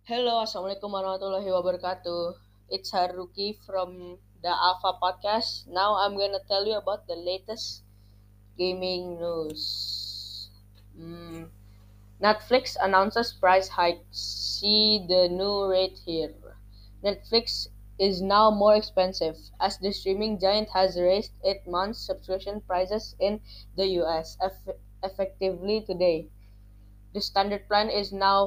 Hello, Assalamualaikum warahmatullahi wabarakatuh. It's Haruki from the Alpha Podcast. Now I'm gonna tell you about the latest gaming news. Mm, Netflix announces price hikes. See the new rate here. Netflix is now more expensive as the streaming giant has raised its month subscription prices in the US effectively today. The standard plan is now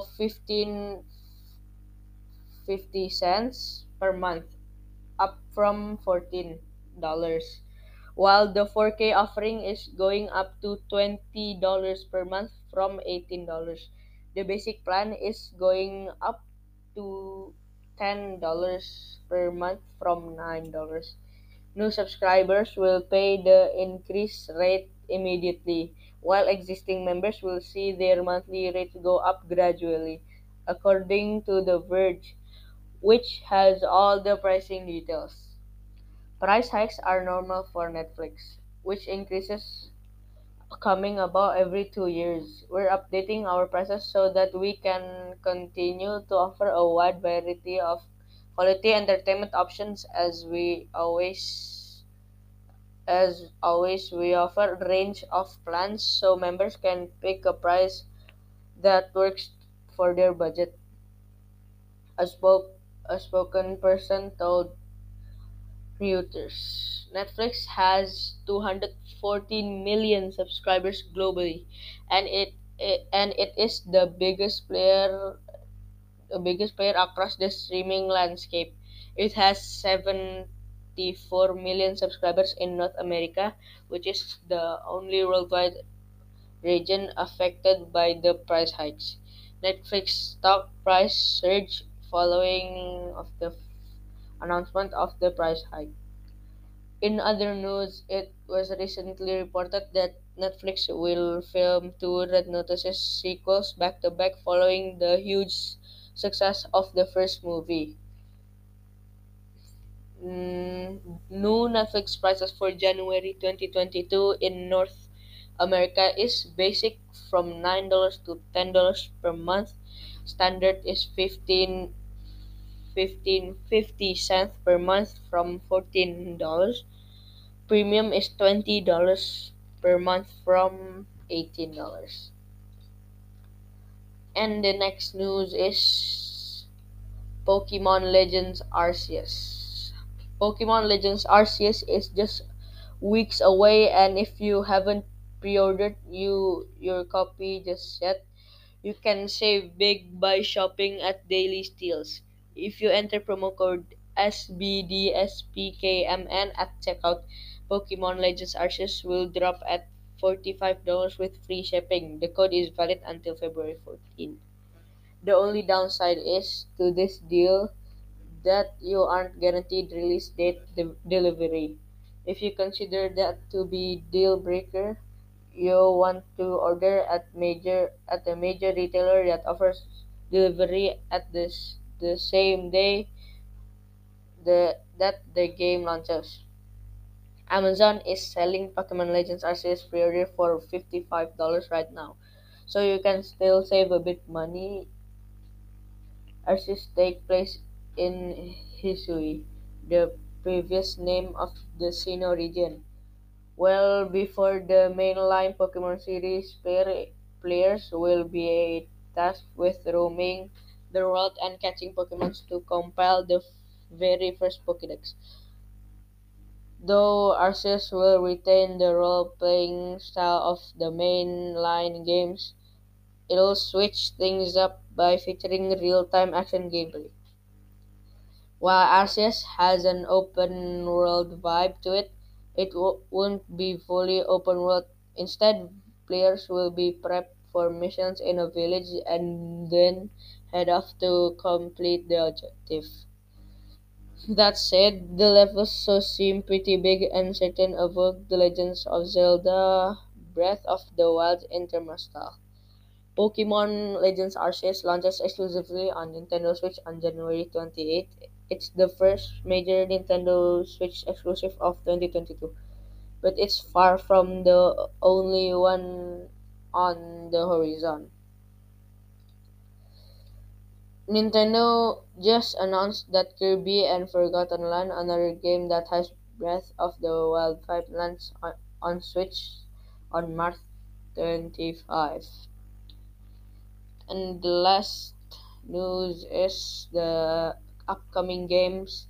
15.50 per month, up from $14, while the 4K offering is going up to $20 per month from $18. The basic plan is going up to $10 per month from $9. New subscribers will pay the increased rate immediately, while existing members will see their monthly rate go up gradually, according to The Verge, which has all the pricing details. Price hikes are normal for Netflix, which increases coming about every 2 years. We're updating our prices so that we can continue to offer a wide variety of quality entertainment options as always we offer a range of plans so members can pick a price that works for their budget. A spoke a spoken person told Reuters. Netflix has 214 million subscribers globally, and it is the biggest player across the streaming landscape. It has 74 million subscribers in North America, which is the only worldwide region affected by the price hikes. Netflix stock price surged following of the announcement of the price hike. In other news, it was recently reported that Netflix will film two Red Notice sequels back to back following the huge success of the first movie. New Netflix prices for January 2022 in North America is basic from $9 to $10 per month. Standard is 15.50 per month from $14. Premium is $20 per month from $18. And the next news is Pokemon Legends Arceus. Pokemon Legends Arceus is just weeks away, and if you haven't pre-ordered your copy just yet, you can save big by shopping at Daily Steals. If you enter promo code SBDSPKMN at checkout, Pokemon Legends Arceus will drop at $45 with free shipping. The code is valid until February 14th. The only downside is to this deal that you aren't guaranteed release date delivery. If you consider that to be deal breaker, you want to order at a major retailer that offers delivery at the same day that the game launches. Amazon is selling Pokemon Legends Arceus pre-order for $55 right now, so you can still save a bit money. Arceus take place in Hisui, the previous name of the Sinnoh region. Well before the mainline Pokemon series, players will be tasked with roaming the world and catching Pokemon to compile the very first Pokédex. Though Arceus will retain the role-playing style of the mainline games, it'll switch things up by featuring real-time action gameplay. While Arceus has an open world vibe to it, it won't be fully open world. Instead, players will be prepped for missions in a village and then head off to complete the objective. That said, the levels so seem pretty big and certain evoke the Legends of Zelda Breath of the Wild Interma style. Pokemon Legends Arceus launches exclusively on Nintendo Switch on January 28th. It's the first major Nintendo Switch exclusive of 2022, but it's far from the only one on the horizon. Nintendo just announced that Kirby and Forgotten Land, another game that has Breath of the Wild 5 lands on Switch on March 25. And the last news is the upcoming games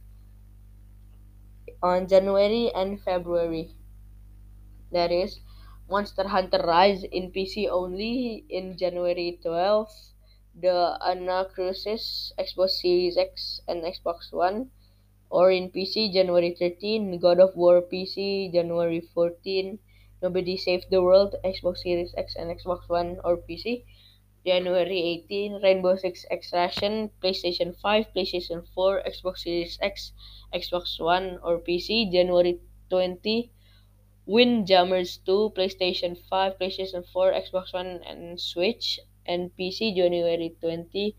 on January and February. That is Monster Hunter Rise in PC only in January 12th, the Anacrusis Xbox Series X and Xbox One, or in PC January 13, God of War PC January 14, Nobody Saved the World Xbox Series X and Xbox One or PC January 18, Rainbow Six Extraction PlayStation 5, PlayStation 4, Xbox Series X, Xbox One or PC January 20, Windjammers 2, PlayStation 5, PlayStation 4, Xbox One, and Switch, and PC January 20.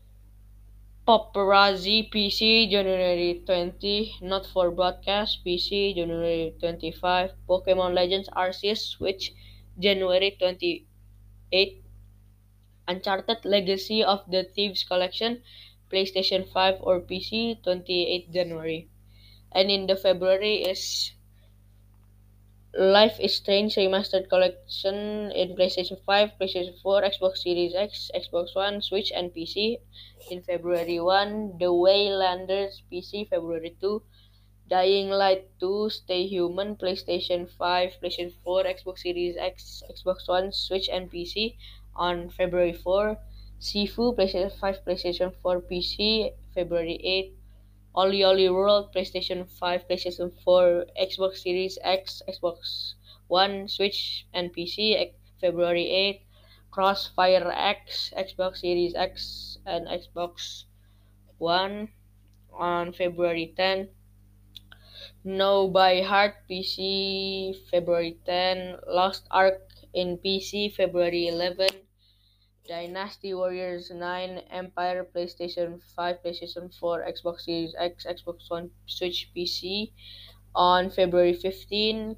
Paparazzi PC January 20, Not for Broadcast PC January 25, Pokemon Legends Arceus Switch January 28, Uncharted Legacy of the Thieves Collection PlayStation 5 or PC 28 January. And in the February is Life is Strange Remastered Collection in PlayStation 5, PlayStation 4, Xbox Series X, Xbox One, Switch, and PC. In February 1, The Waylanders PC, February 2, Dying Light 2, Stay Human, PlayStation 5, PlayStation 4, Xbox Series X, Xbox One, Switch, and PC. On February 4, Sifu, PlayStation 5, PlayStation 4, PC, February 8, Oli Oli World, PlayStation 5, PlayStation 4, Xbox Series X, Xbox One, Switch, and PC, February 8. Crossfire X, Xbox Series X, and Xbox One on February 10. No by Heart PC, February 10. Lost Ark in PC, February 11. Dynasty Warriors 9, Empire, PlayStation 5, PlayStation 4, Xbox Series X, Xbox One, Switch, PC on February 15.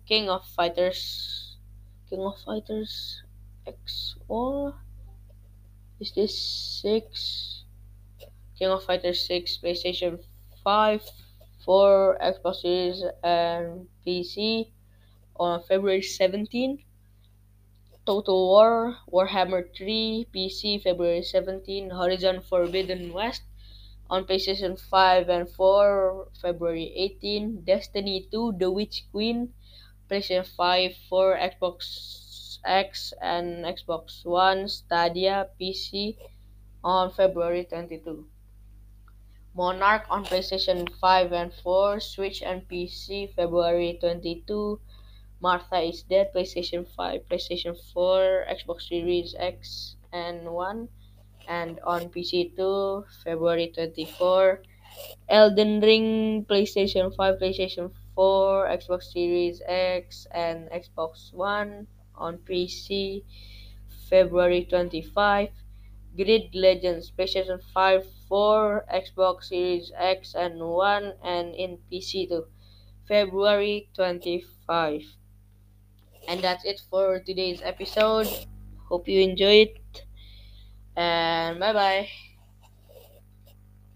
King of Fighters X, or is this 6? King of Fighters 6, PlayStation 5, 4, Xbox Series, and PC on February 17. Total War, Warhammer 3, PC, February 17, Horizon Forbidden West on PlayStation 5 and 4, February 18, Destiny 2, The Witch Queen, PlayStation 5, 4, Xbox X, and Xbox One, Stadia, PC on February 22. Monarch on PlayStation 5 and 4, Switch, and PC, February 22. Martha is Dead, PlayStation 5, PlayStation 4, Xbox Series X and One, and on PC too, February 24. Elden Ring, PlayStation 5, PlayStation 4, Xbox Series X, and Xbox One, on PC, February 25. Grid Legends, PlayStation 5, 4, Xbox Series X and One, and in PC too, February 25. And that's it for today's episode. Hope you enjoyed, and bye bye.